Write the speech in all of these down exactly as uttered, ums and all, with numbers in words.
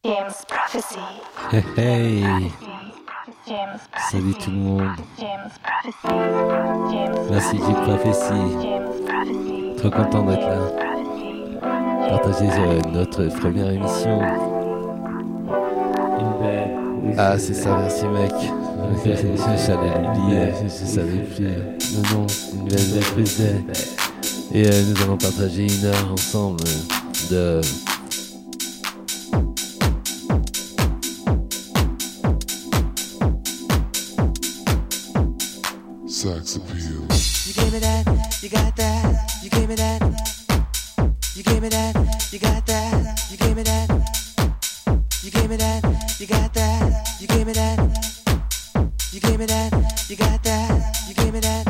James Prophecy. Hey hey. James Salut tout le monde. James Prophecy. James Merci James Prophecy. James Prophecy. Trop content d'être là. Prophecy. Partager euh, notre première émission. Ah c'est ça, merci mec. J'allais l'oublier, je savais plus. Non non, c'est une belle prise de- Et euh, nous allons partager une heure ensemble de... Sex appeal. You gave me that, you got that, you gave me that. You gave me that, you got that, you gave me that. You gave me that, you got that, you gave me that. You gave me that, you got that, you gave me that.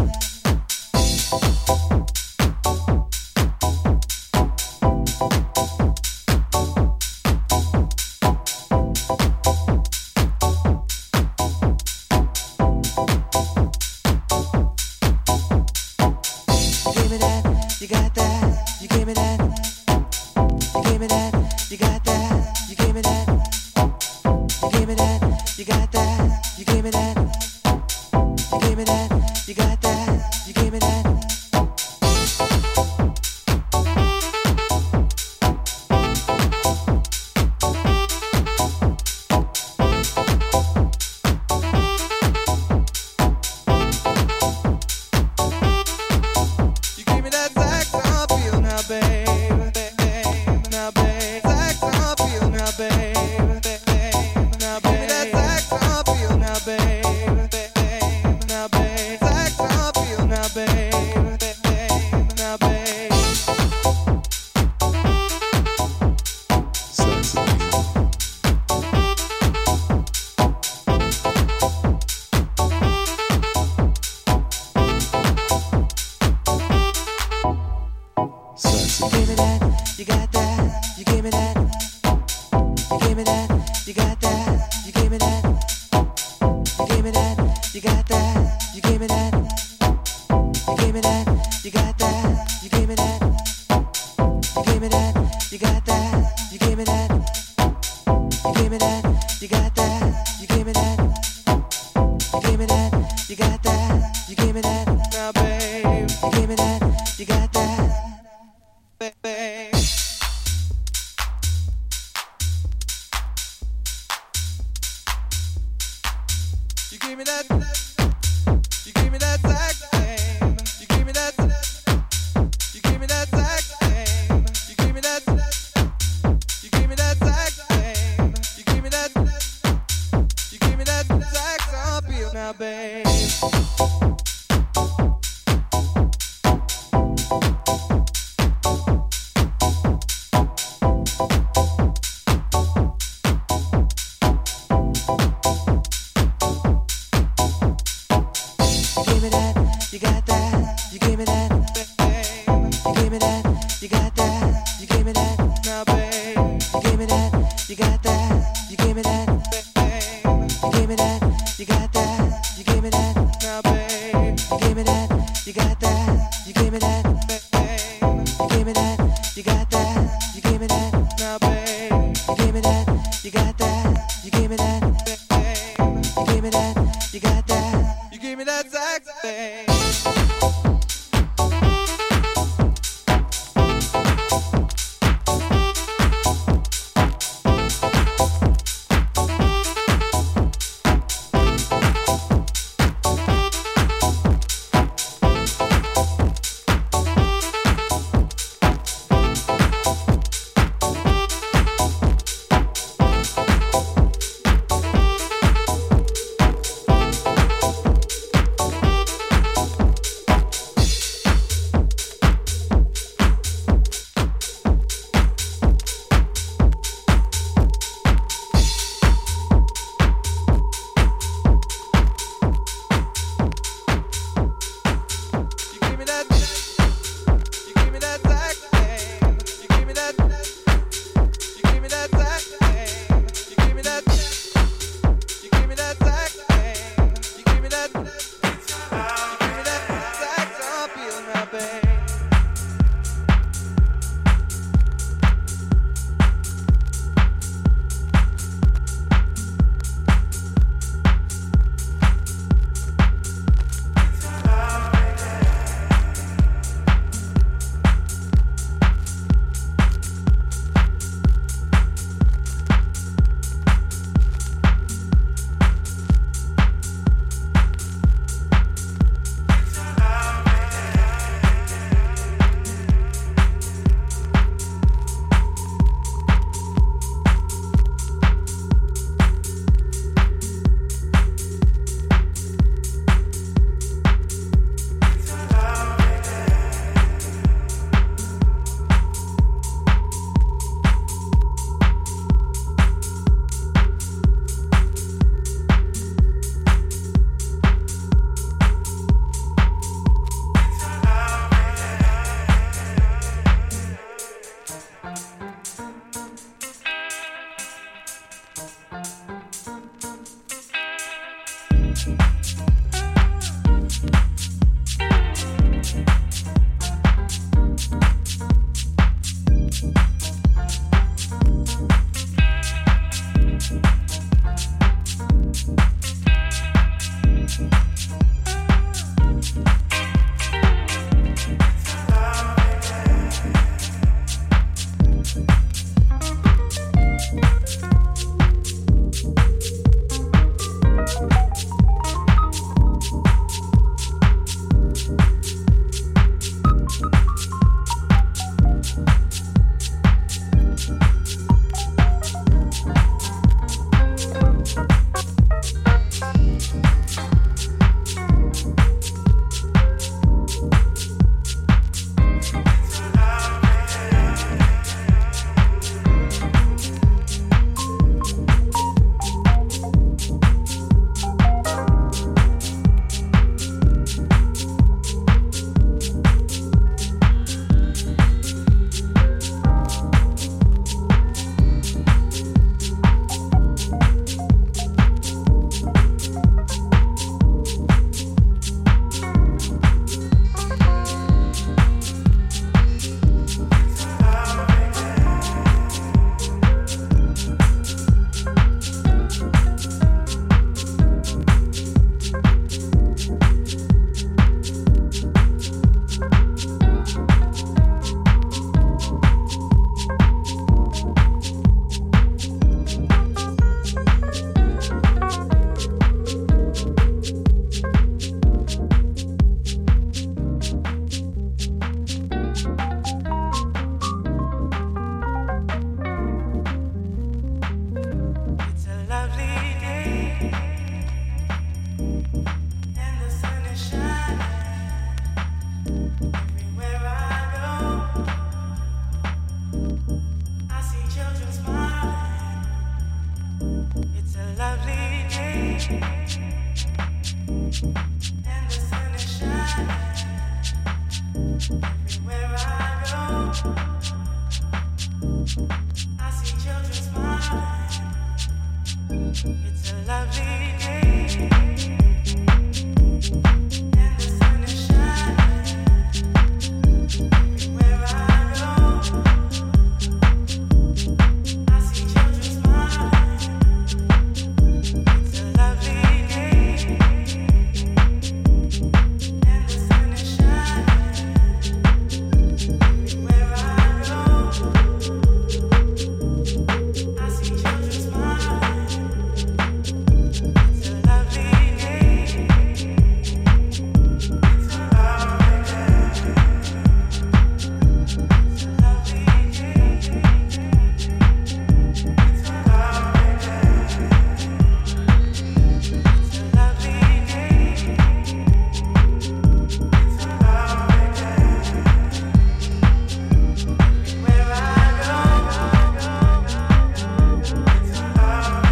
Where I go,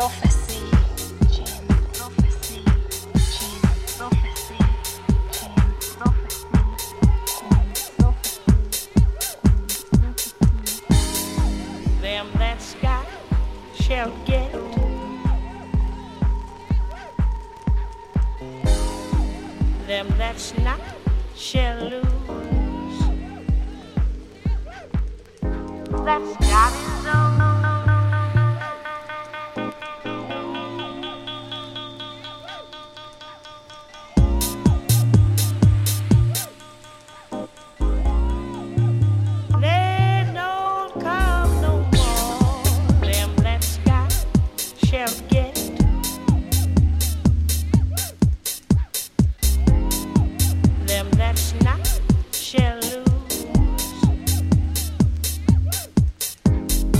prophecy. James prophecy. James prophecy. James prophecy. James prophecy. Them that's got shall get. Them that's not shall lose. That's got his own. They don't come no more. Them that's got shall get. Them that's not shall lose.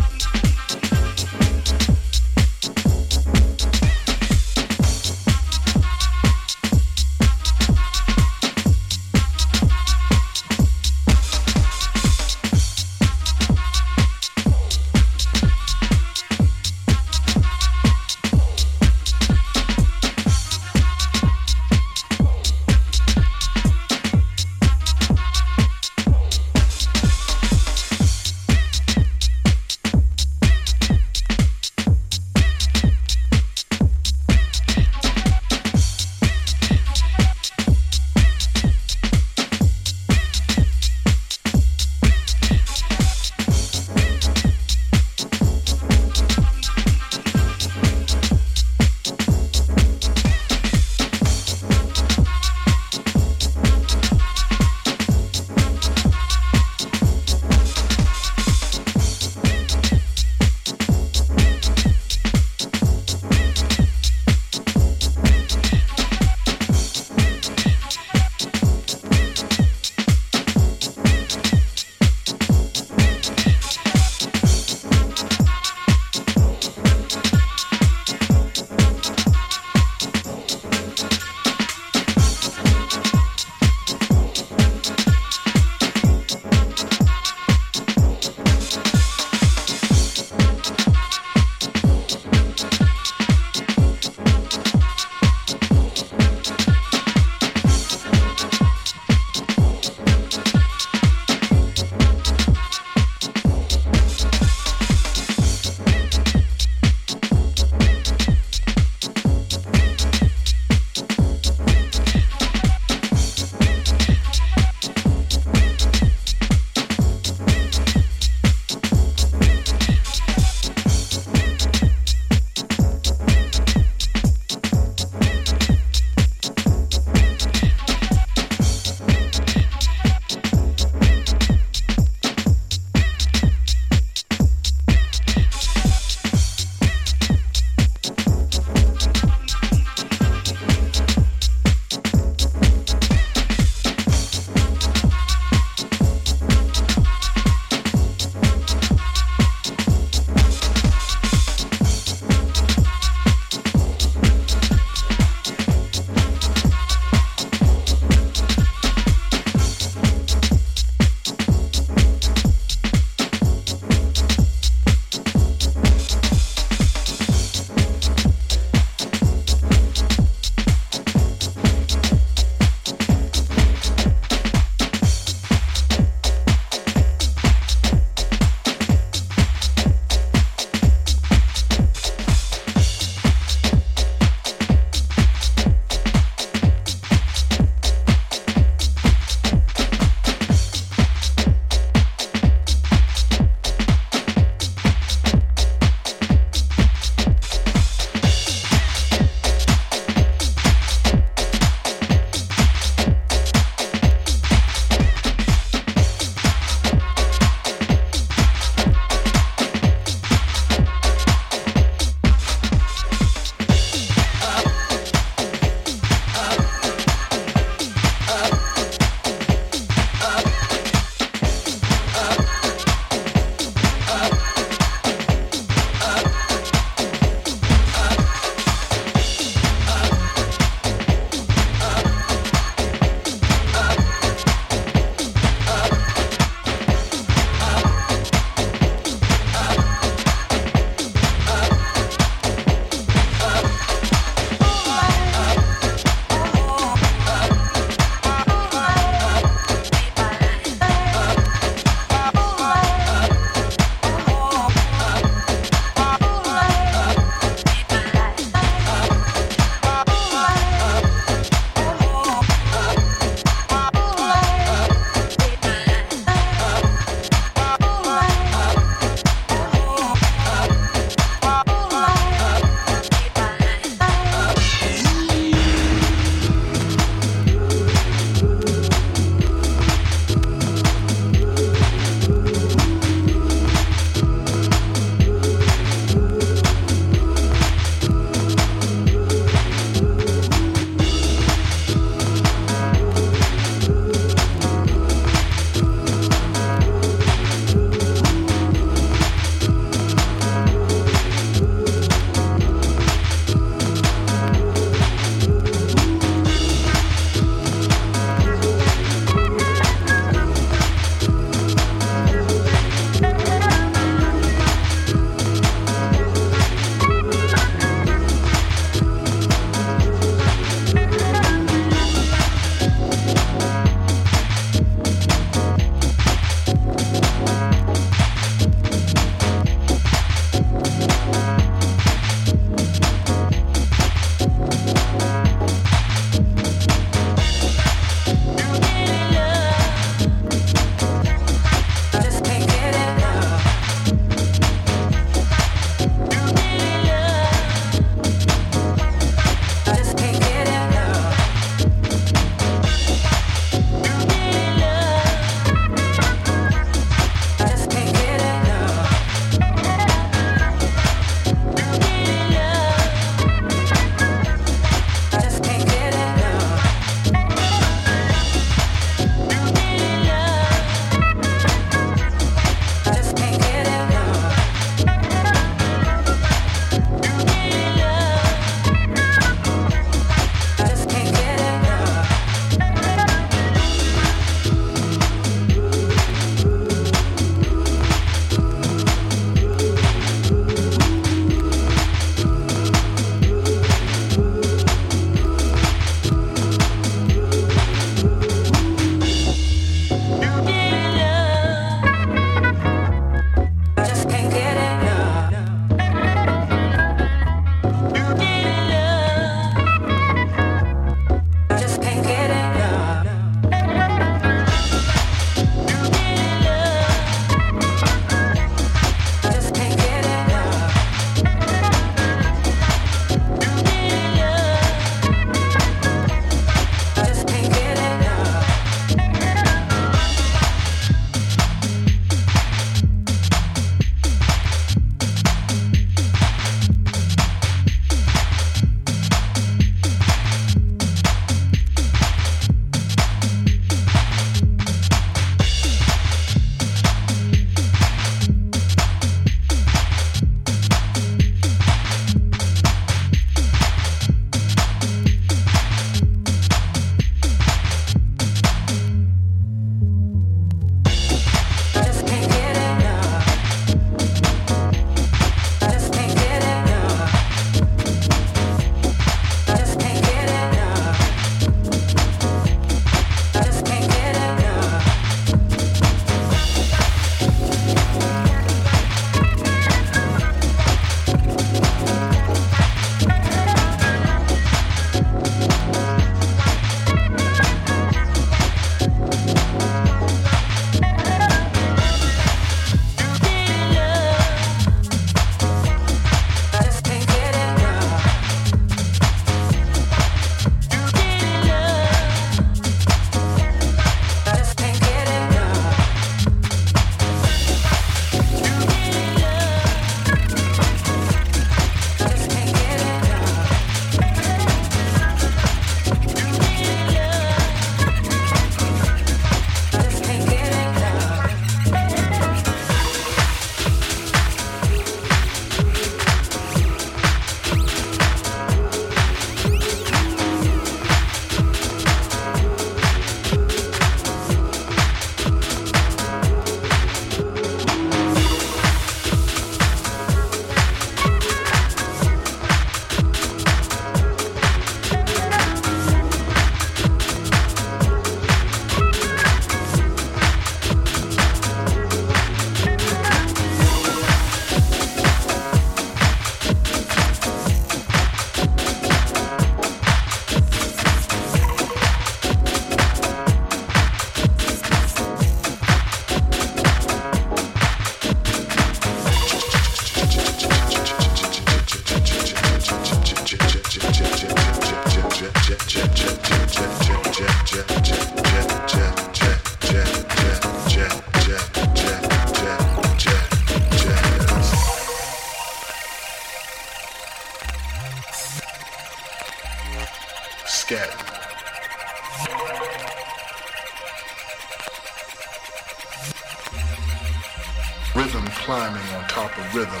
Rhythm climbing on top of rhythm.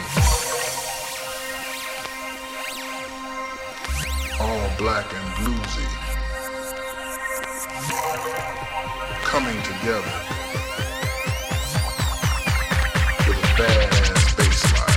All black and bluesy. Coming together with a badass bass line.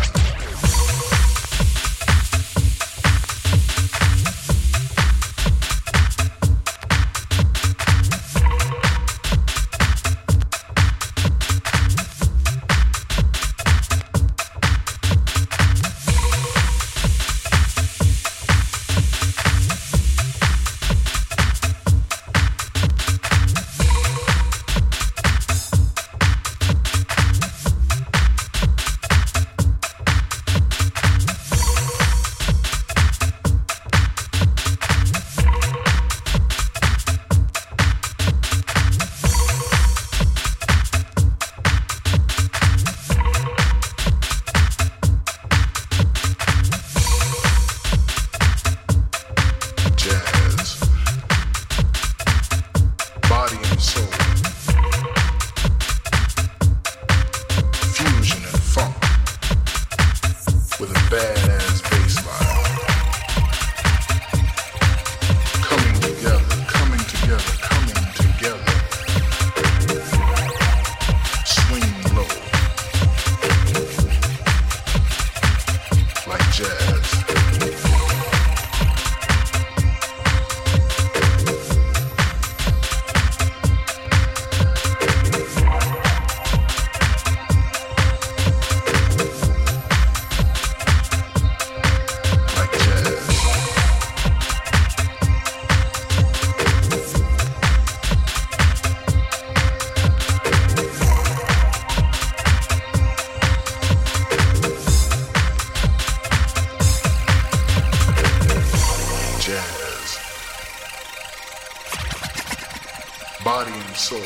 Body and soul.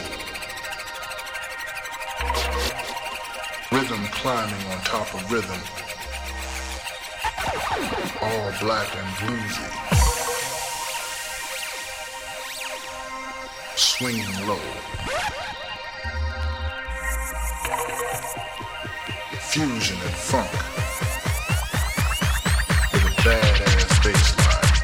Rhythm climbing on top of rhythm. All black and bluesy. Swinging low. Fusion and funk. With a badass bass line.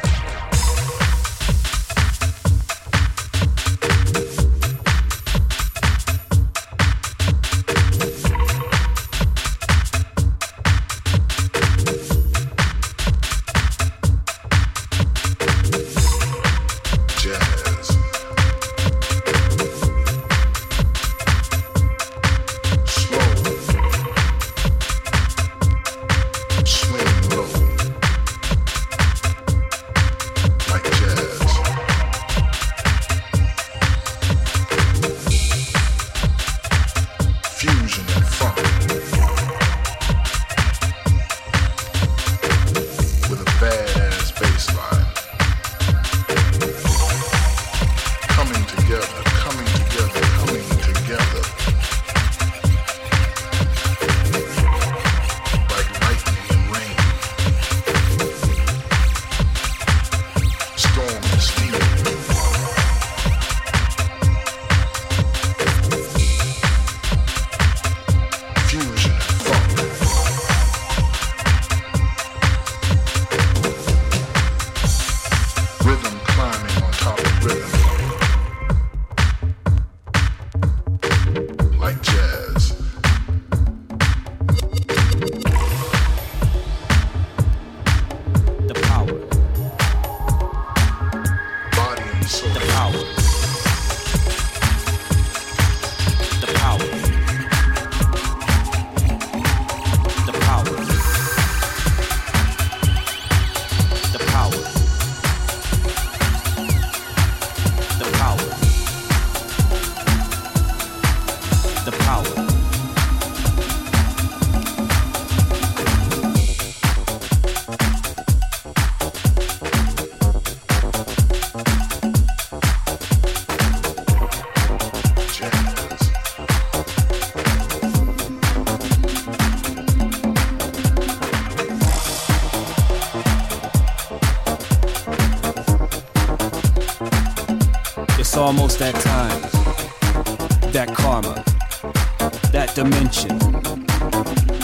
It's almost that time, that karma, that dimension,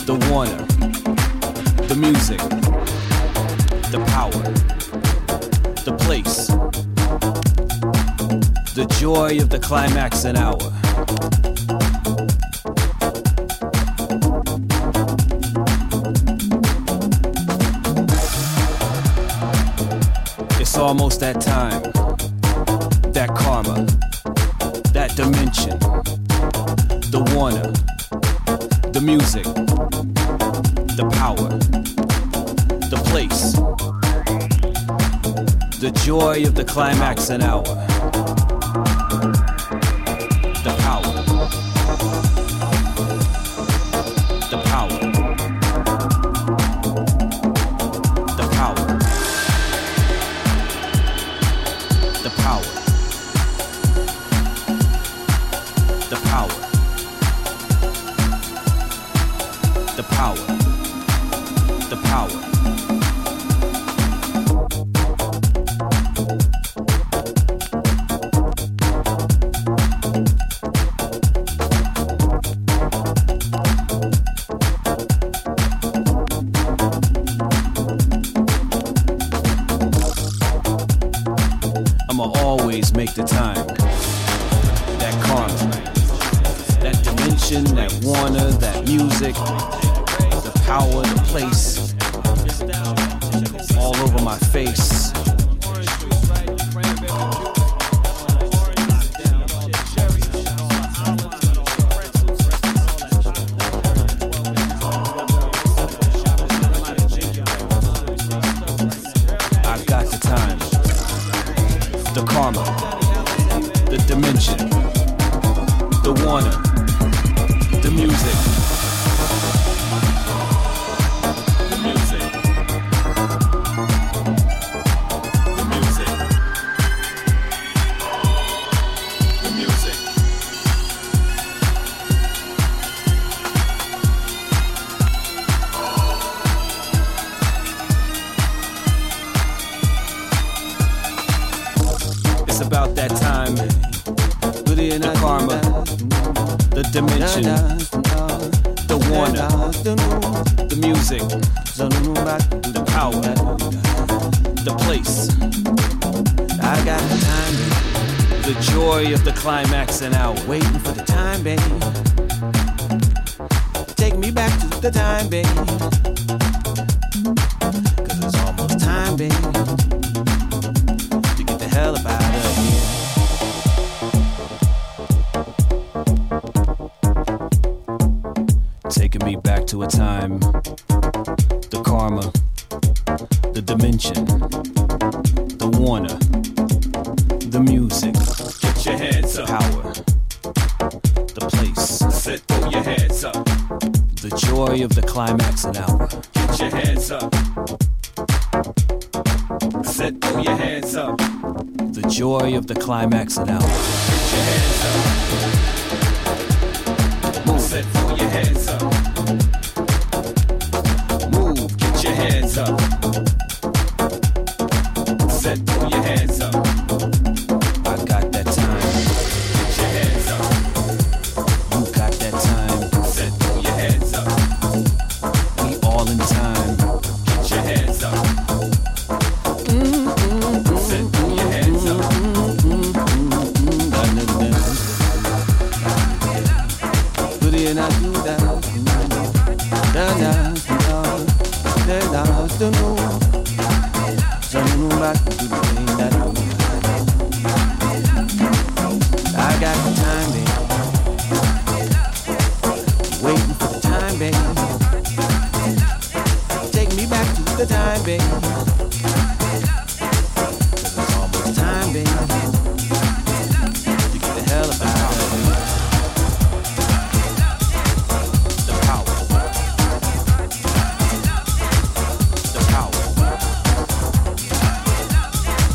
the Warner, the music, the power, the place, the joy of the climax and hour. It's almost that time, that karma, that dimension, the Warner, the music, the power, the place, the joy of the climax and hour. The power, the power, the power, the power, the power, the power, the power. Make the time, that karma, that dimension, that Warner, that music, the power, the place, all over my face. I got the time, the karma, the dimension, the Warner, the music, the music, the music, the music. It's about that time. The karma, the dimension, the Warner, the music, the power, the place. I got the time, the joy of the climax and hour. Waiting for the time, baby. Take me back to the time, baby. Cause it's almost time, baby, to get the hell up out of here. Taking me back to a time, the karma, the dimension, the Warner, the music, get your hands up, power, the place, set, throw your hands up, the joy of the climax and hour, get your hands up, set, throw your hands up, the joy of the climax and hour, get your hands up, move, set, throw your hands up. Move, get your hands up. Set, throw your hands up. I got that time. Get your hands up. You got that time. Set, throw your hands up. We all in time. Get your hands up. Mm-hmm. Set, throw your hands up. Mm-hmm. Put it in, I do that. Da-da. I got the time, baby. Waiting for the time, baby. Take me back to the time, baby. Cause it's almost time, baby, to get the hell up out of here. The power. The power.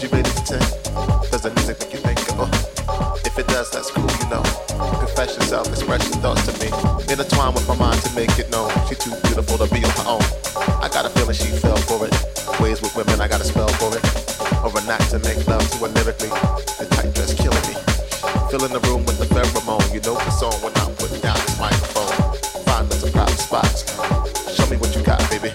ready to ten? Does the music make you think of her? If it does, that's cool, you know. Confession, self-expression, thoughts to me. Intertwine with my mind to make it known. She too beautiful to be on her own. I got a feeling she fell for it. Ways with women, I got a spell for it. Or a knack to make love to her lyrically. The tight dress killing me. Filling the room with the pheromone. You know the song when I'm putting down this microphone. Find us some private spots. Show me what you got, baby.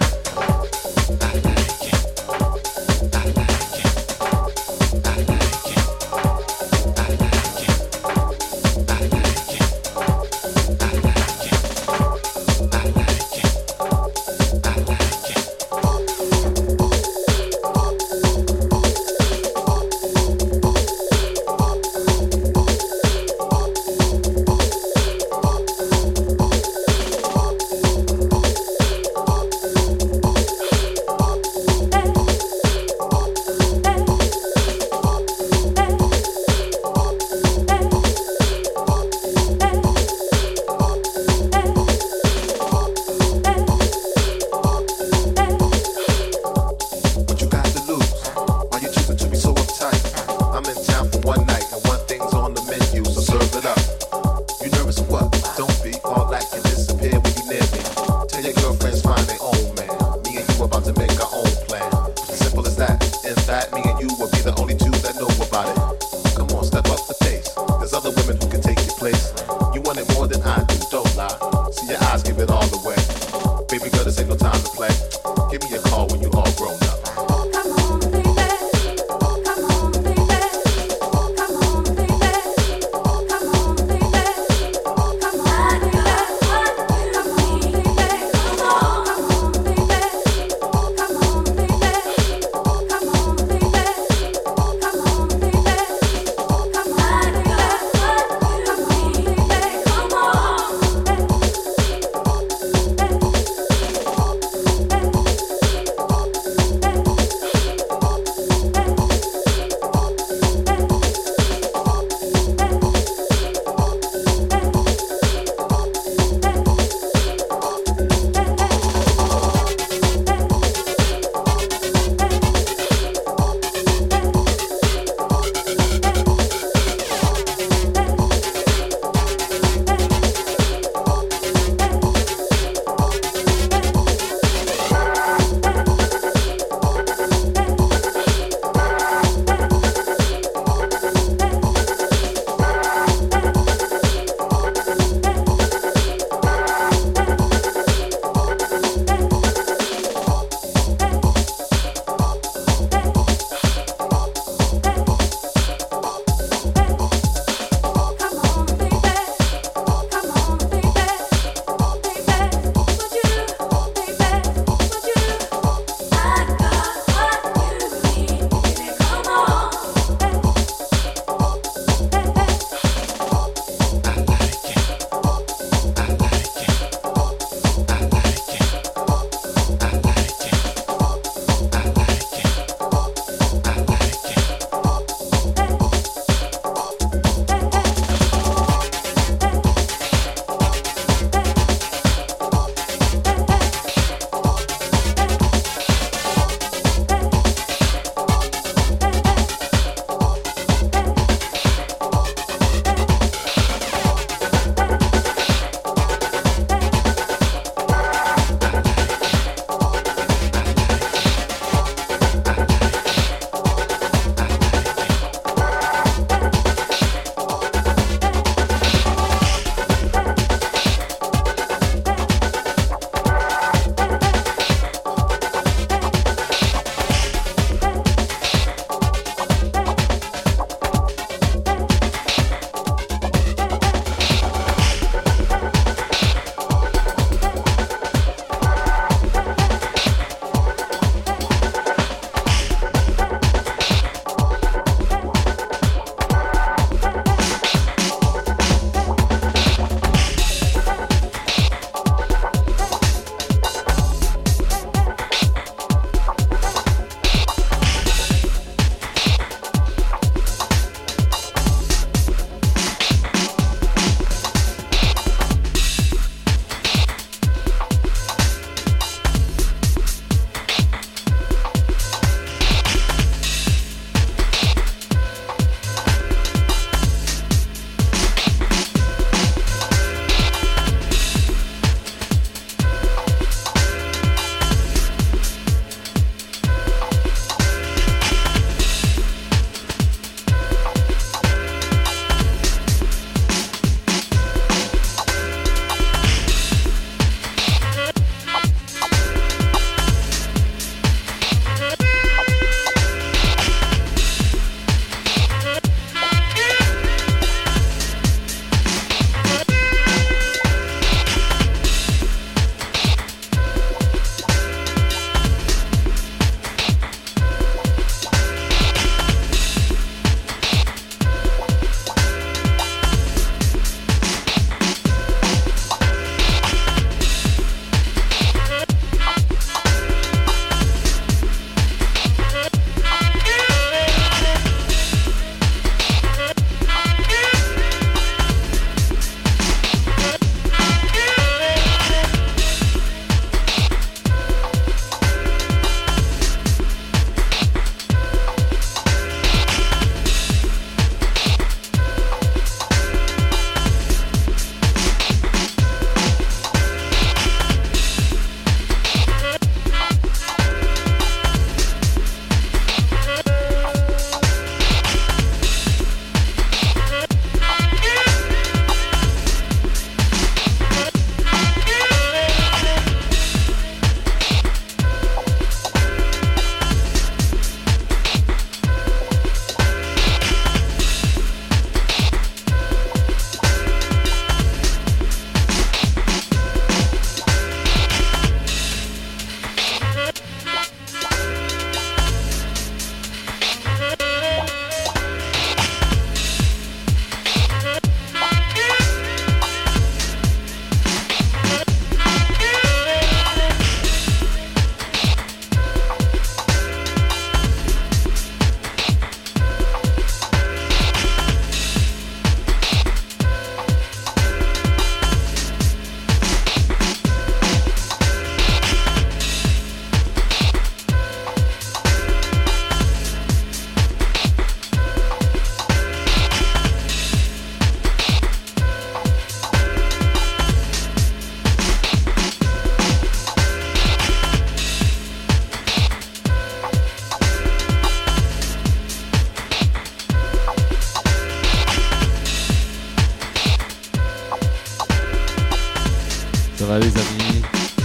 Ça va les amis?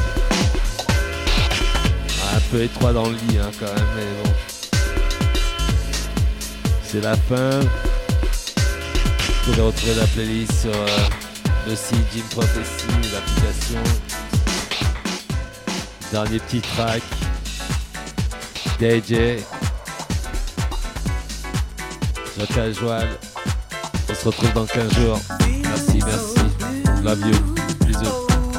Ah, un peu étroit dans le lit hein, quand même, mais bon. C'est la fin. Vous pouvez retrouver la playlist sur euh, le site Jim Prophecy, l'application. Dernier petit track. D J. Jocal Joal. On se retrouve dans quinze jours. Merci, merci. Love you. Bisous.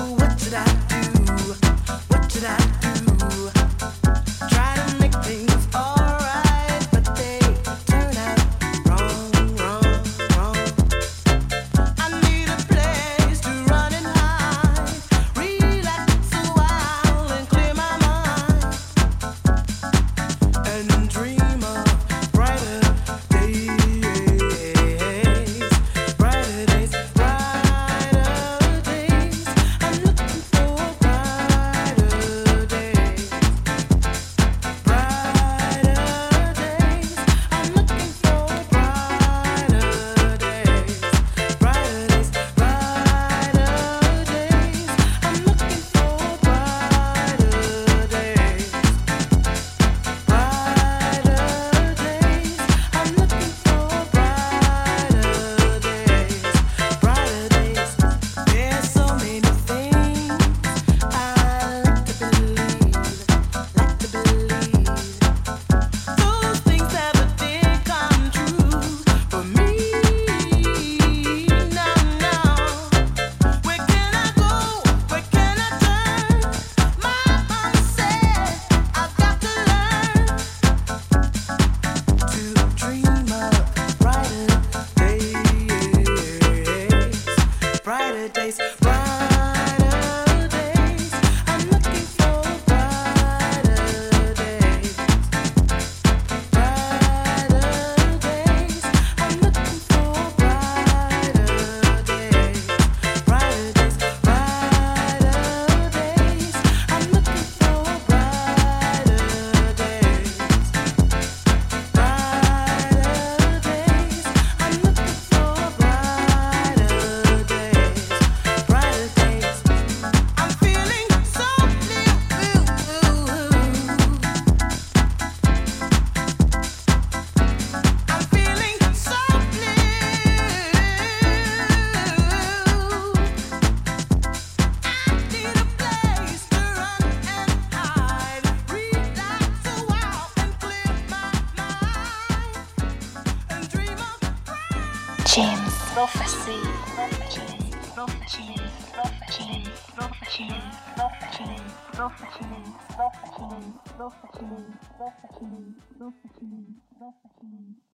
James Prophecy. James Prophecy. James Prophecy. James Prophecy. Prophecy. Prophecy. Prophecy. Prophecy. Prophecy. Prophecy.